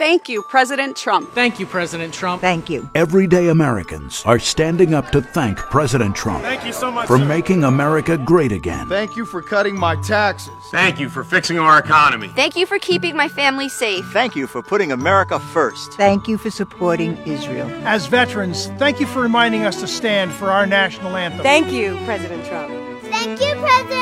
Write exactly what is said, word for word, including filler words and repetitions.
Thank you, President Trump. Thank you, President Trump. Thank you. Everyday Americans are standing up to thank President Trump. Thank you so much, for sir. making America great again. Thank you for cutting my taxes. Thank you for fixing our economy. Thank you for keeping my family safe. Thank you for putting America first. Thank you for supporting Israel. As veterans, thank you for reminding us to stand for our national anthem. Thank you, President Trump. Thank you, President